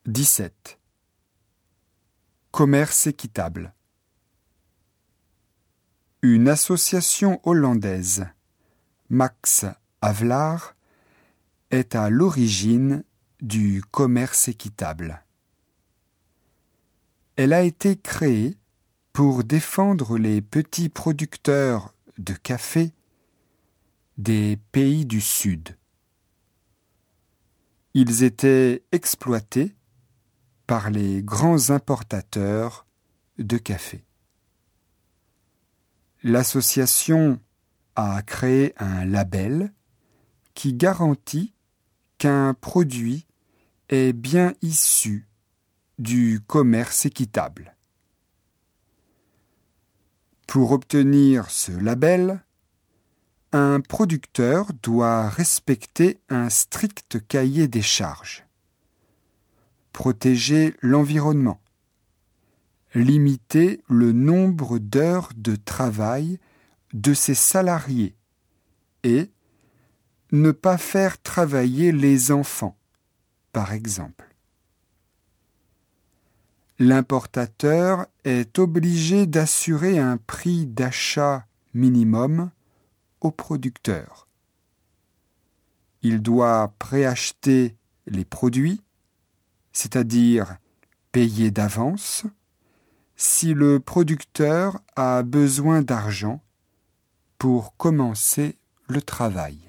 17. Commerce équitable. Une association hollandaise, Max Havelaar, est à l'origine du commerce équitable. Elle a été créée pour défendre les petits producteurs de café des pays du Sud. Ils étaient exploités par les grands importateurs de café. L'association a créé un label qui garantit qu'un produit est bien issu du commerce équitable. Pour obtenir ce label, un producteur doit respecter un strict cahier des charges, protéger l'environnement, limiter le nombre d'heures de travail de ses salariés et ne pas faire travailler les enfants, par exemple. L'importateur est obligé d'assurer un prix d'achat minimum au producteur. Il doit préacheter les produits, c'est-à-dire payer d'avance, si le producteur a besoin d'argent pour commencer le travail.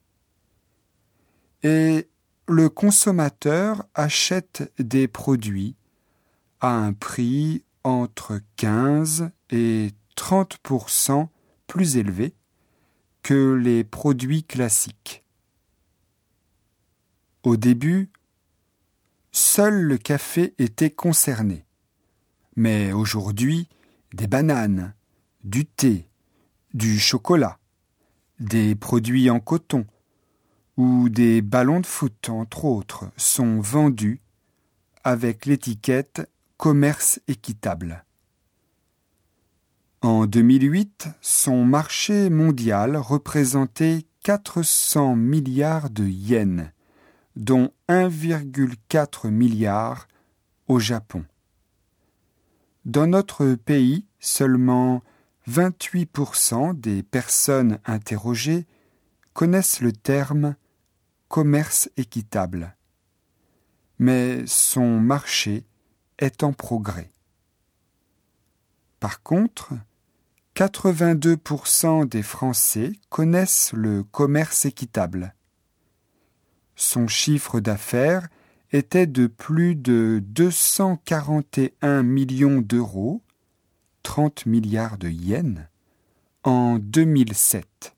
Et le consommateur achète des produits à un prix entre 15 et 30% plus élevé que les produits classiques. Au début, seul le café était concerné. Mais aujourd'hui, des bananes, du thé, du chocolat, des produits en coton ou des ballons de foot, entre autres, sont vendus avec l'étiquette « Commerce équitable ». En 2008, son marché mondial représentait 400 milliards de yens, dont 1,4 milliard au Japon. Dans notre pays, seulement 28% des personnes interrogées connaissent le terme « commerce équitable », mais son marché est en progrès. Par contre, 82% des Français connaissent le commerce équitable. Son chiffre d'affaires était de plus de 241 millions d'euros, 30 milliards de yens, en 2007.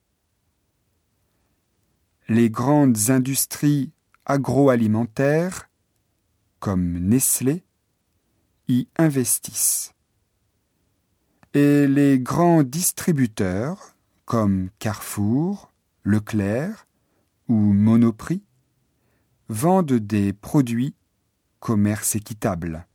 Les grandes industries agroalimentaires, comme Nestlé, y investissent. Et les grands distributeurs, comme Carrefour, Leclerc ou Monoprix, vendent des produits commerce équitable.